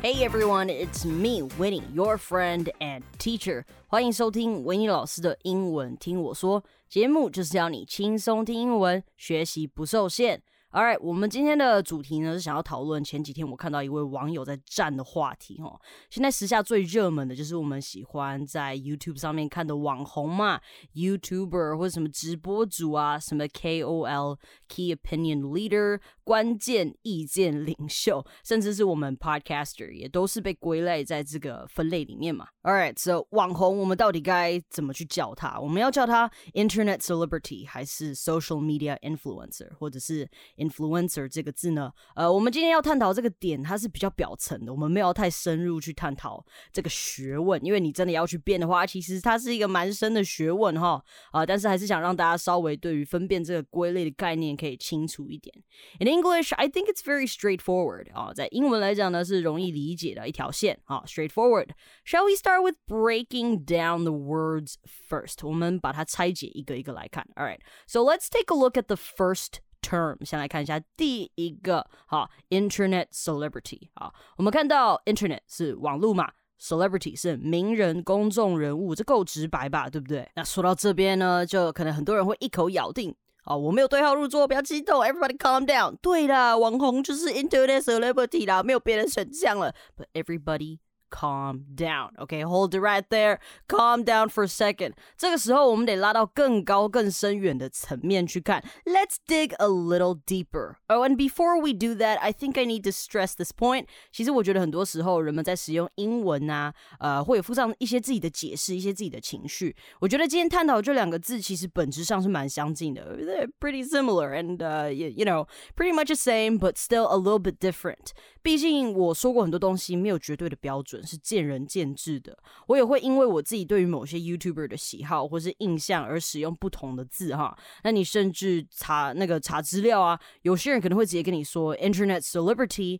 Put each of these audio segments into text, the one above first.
Hey everyone, it's me, Winnie, your friend and teacher. 欢迎收听维尼老师的英文听我说，节目就是要你轻松听英文，学习不受限。Alright, 我们今天的主题呢是想要讨论前几天我看到一位网友在战的话题哦。现在时下最热门的就是我们喜欢在 YouTube 上面看的网红嘛 ，YouTuber 或者什么直播主啊，什么 KOL Key Opinion Leader 关键意见领袖，甚至是我们 Podcaster 也都是被归类在这个分类里面嘛。Alright, so 网红我们到底该怎么去叫他？我们要叫他 Internet Celebrity 还是 Social Media Influencer 或者是influencer 这个字呢？我们今天要探讨这个点，它是比较表层的，我们没有太深入去探讨这个学问，因为你真的要去辩的话，其实它是一个蛮深的学问哈。但是还是想让大家稍微对于分辨这个归类的概念可以清楚一点。In English, I think it's very straightforward 在英文来讲呢是容易理解的一条线straightforward. Shall we start with breaking down the words first? 我们把它拆解一个一个来看。Alright, so let's take a look at the first term. 先来看一下第一个Internet Celebrity. 我们看到 Internet 是网络嘛，Celebrity 是名人公众人物，这够直白吧，对不对？那说到这边呢，就可能很多人会一口咬定我没有对号入座，不要激动 ，Everybody calm down。对啦，网红就是 Internet Celebrity 啦，没有别的选项了。But everybody calm down, okay? Hold it right there. Calm down for a second. 这个时候我们得拉到更高更深远的层面去看。Let's dig a little deeper. Oh, and before we do that, I think I need to stress this point. 其实我觉得很多时候人们在使用英文啊，会有附上一些自己的解释，一些自己的情绪。我觉得今天探讨这两个字，其实本质上是蛮相近的。They're pretty similar and, you know, pretty much the same, but still a little bit different. 毕竟我说过很多东西没有绝对的标准，是见仁见智的。我也会因为我自己对于某些 YouTuber 的喜好或是印象而使用不同的字哈。那你甚至查资料啊，有些人可能会直接跟你说 Internet Celebrity,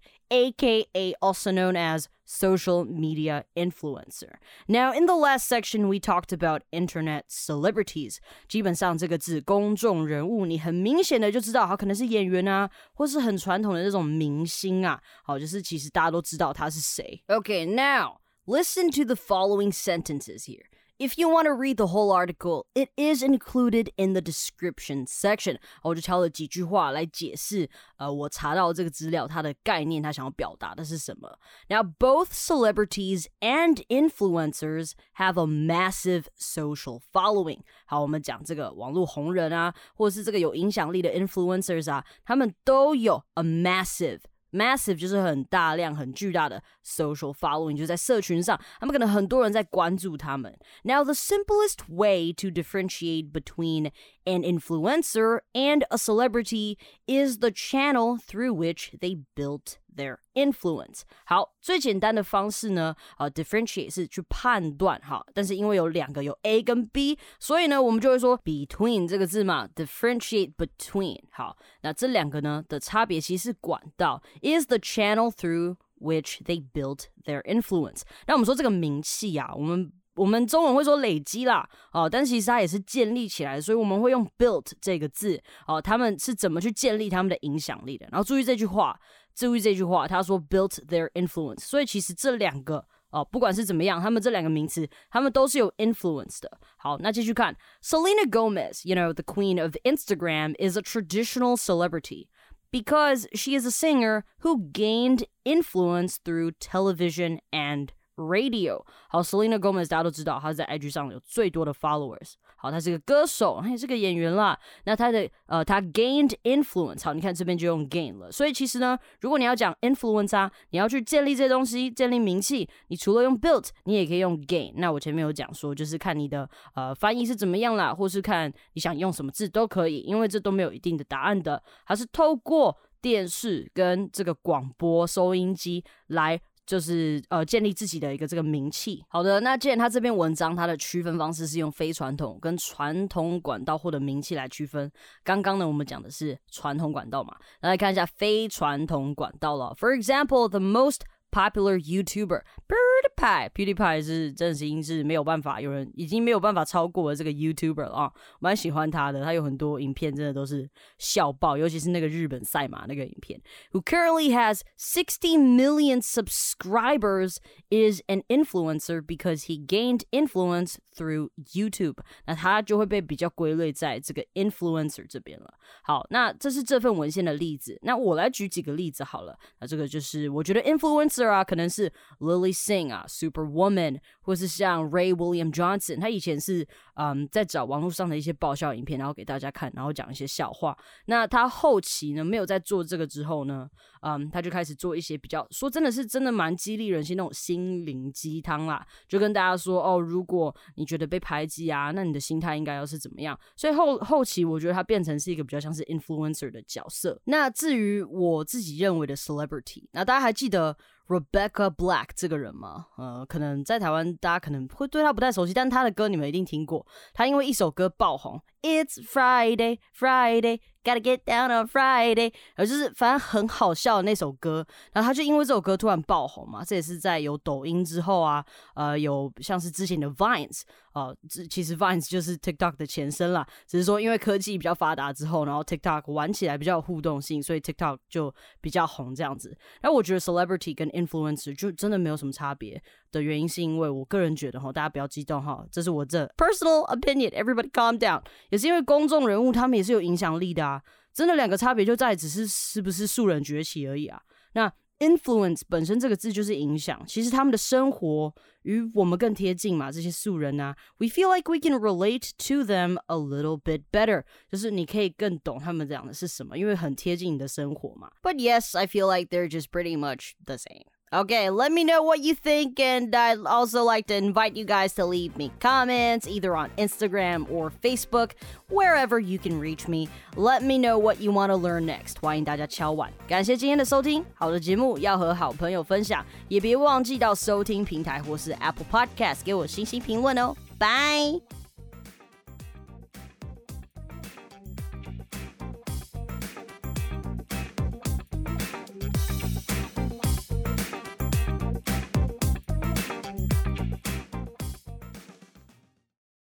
aka also known as social media influencer. Now, in the last section, we talked about internet celebrities. 基本上这个字公众人物，你很明显的就知道他可能是演员啊，或是很传统的那种明星啊。好，就是其实大家都知道他是谁。Okay, now, listen to the following sentences here. If you want to read the whole article, it is included in the description section. 我就挑了几句话来解释我查到这个资料它的概念，它想要表达的是什么。Now, both celebrities and influencers have a massive social following. 好，我们讲这个网络红人啊，或者是这个有影响力的 influencers 啊，他们都有 a massive 就是很大量很巨大的 social following， 就是在社群上他们可能很多人在关注他们。Now the simplest way to differentiate between an influencer and a celebrity is the channel through which they built their influence. 好，最简单的方式呢differentiate 是去判断好，但是因为有两个有 A 跟 B， 所以呢我们就会说 between 这个字嘛 differentiate between。 好，那这两个呢的差别其实是管道 is the channel through which they built their influence。 那我们说这个名气啊，我们中文会说累积啦，但其实它也是建立起来的，所以我们会用 built 这个字，他们是怎么去建立他们的影响力的。然后注意这句话，他说 built their influence， 所以其实这两个不管是怎么样，他们这两个名词，他们都是有 influence 的。好，那继续看 Selena Gomez, you know, the queen of Instagram, is a traditional celebrity because she is a singer who gained influence through television and radio. 好 Selena Gomez 大家都知道她在 IG 上有最多的 followers。 好，她是个歌手，她也是个演员啦。那她gained influence， 好，你看这边就用 gain 了。所以其实呢，如果你要讲 influence 啊，你要去建立这些东西，建立名气，你除了用 built， 你也可以用 gain。那我前面有讲说，就是看你的翻译是怎么样啦，或是看你想用什么字都可以，因为这都没有一定的答案的，还是透过电视跟这个广播收音机来就是建立自己的一个这个名气。好的，那既然他这篇文章它的区分方式是用非传统跟传统管道获得名气来区分，刚刚呢我们讲的是传统管道嘛，来看一下非传统管道了。For example, the most popular YouTuber, PewDiePie 是真心是没有办法，有人已经没有办法超过了这个 YouTuber 了啊，蛮喜欢他的，他有很多影片真的都是笑爆，尤其是那个日本赛马那个影片。Who currently has 60 million subscribers is an influencer because he gained influence through YouTube. 那他就会被比较归类在这个 influencer 这边了。好，那这是这份文献的例子。那我来举几个例子好了。那这个就是我觉得 influencer 啊，可能是 Lily Singh 啊 ，Superwoman， 或是像 Ray William Johnson， 他以前是在找网络上的一些爆笑影片，然后给大家看，然后讲一些笑话。那他后期呢，没有在做这个之后呢，他就开始做一些比较说真的蛮激励人心那种心灵鸡汤啦，就跟大家说哦，如果你觉得被排挤啊，那你的心态应该要是怎么样？所以后期我觉得他变成是一个比较像是 influencer 的角色。那至于我自己认为的 celebrity， 那大家还记得Rebecca Black 这个人吗？可能在台湾大家可能会对他不太熟悉，但他的歌你们一定听过。他因为一首歌爆红 ，It's Friday, Friday, gotta get down on Friday， 就是反正很好笑的那首歌。然后他就因为这首歌突然爆红嘛，这也是在有抖音之后啊，有像是之前的 Vines，其实 Vines 就是 TikTok 的前身啦，只是说因为科技比较发达之后，然后 TikTok 玩起来比较有互动性，所以 TikTok 就比较红这样子。然后我觉得 celebrity 跟 influencer 就真的没有什么差别的原因，是因为我个人觉得大家不要激动这是我这 personal opinion， everybody calm down， 也是因为公众人物他们也是有影响力的啊，真的两个差别就在只是不是素人崛起而已啊。那 influence 本身这个字就是影响，其实他们的生活与我们更贴近嘛，这些素人啊 we feel like we can relate to them a little bit better， 就是你可以更懂他们讲的是什么，因为很贴近你的生活嘛。But yes, I feel like they're just pretty much the same.Okay, let me know what you think, and I'd also like to invite you guys to leave me comments either on Instagram or Facebook, wherever you can reach me. Let me know what you want to learn next. 欢迎大家敲碗。感谢今天的收听，好的节目要和好朋友分享，也别忘记到收听平台或是 Apple Podcast 给我星星评论哦。拜。